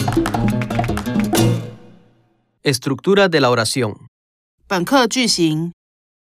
Estructura de la oración. 本课句型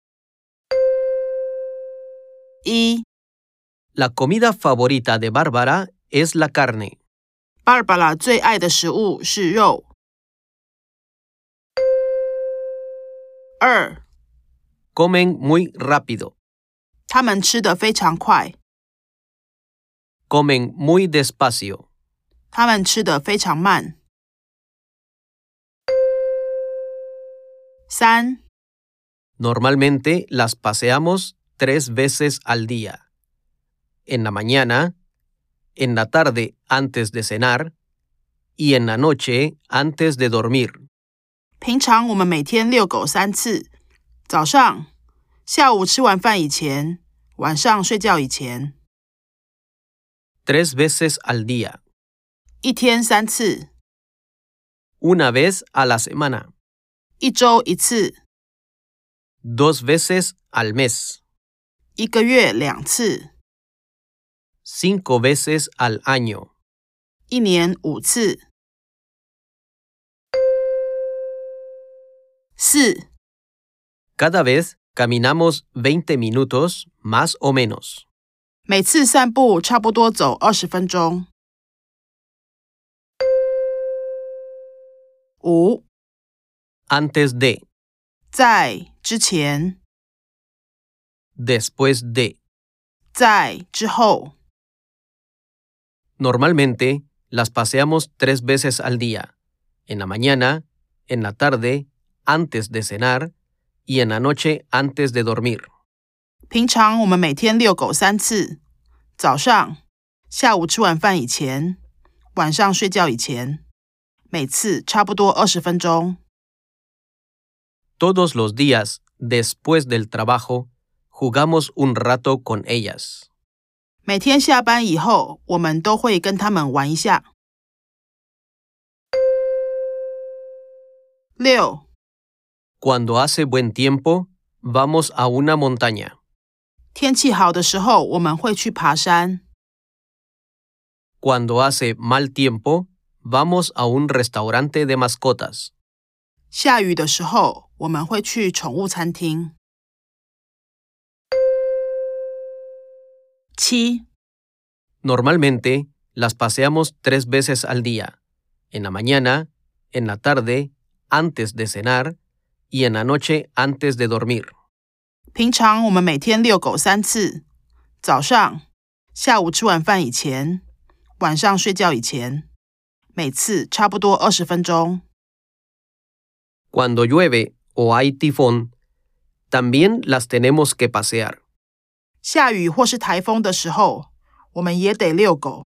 1. La comida favorita de Bárbara es la carne. Barbara 最爱的食物是肉。2. Comen muy rápido. 他们吃得非常快。 Comen muy despacio. 他们吃得非常慢。3. Normalmente las paseamos 3 veces al día. En la mañana, en la tarde antes de cenar y en la noche antes de dormir. 平常我们每天遛狗3次，早上、下午吃完饭以前，晚上睡觉以前。 3 veces al día. 一天3次， Una vez a la semana. 一周1次， 2 veces al mes. 一个月2次， 5 veces al año. 一年5次。4. Cada vez caminamos 20 minutos más o menos. 每次散步差不多走20分钟。5. Antes de, 在之前， después de. 在之后。 Normalmente las paseamos 3 veces al día. En la mañana, en la tarde, antes de cenar y en la noche antes de dormir. 平常我们每天遛狗3次，早上、下午吃完饭以前，晚上睡觉以前，每次差不多20分钟。 Todos los días, después del trabajo, jugamos un rato con ellas. 每天下班以后，我们都会跟他们玩一下。6. Cuando hace buen tiempo, vamos a una montaña. 天气好的时候，我们会去爬山。 Cuando hace mal tiempo, vamos a un restaurante de mascotas. 下雨的时候，我们会去宠物餐厅。7. Normalmente las paseamos 3 veces al día. En la mañana, en la tarde, antes de cenar y en la noche antes de dormir. 平常我们每天遛狗3次，早上、下午吃完饭以前，晚上睡觉以前，每次差不多20分钟。 Cuando llueve o hay tifón, también las tenemos que pasear. 下雨或是台风的时候，我们也得遛狗。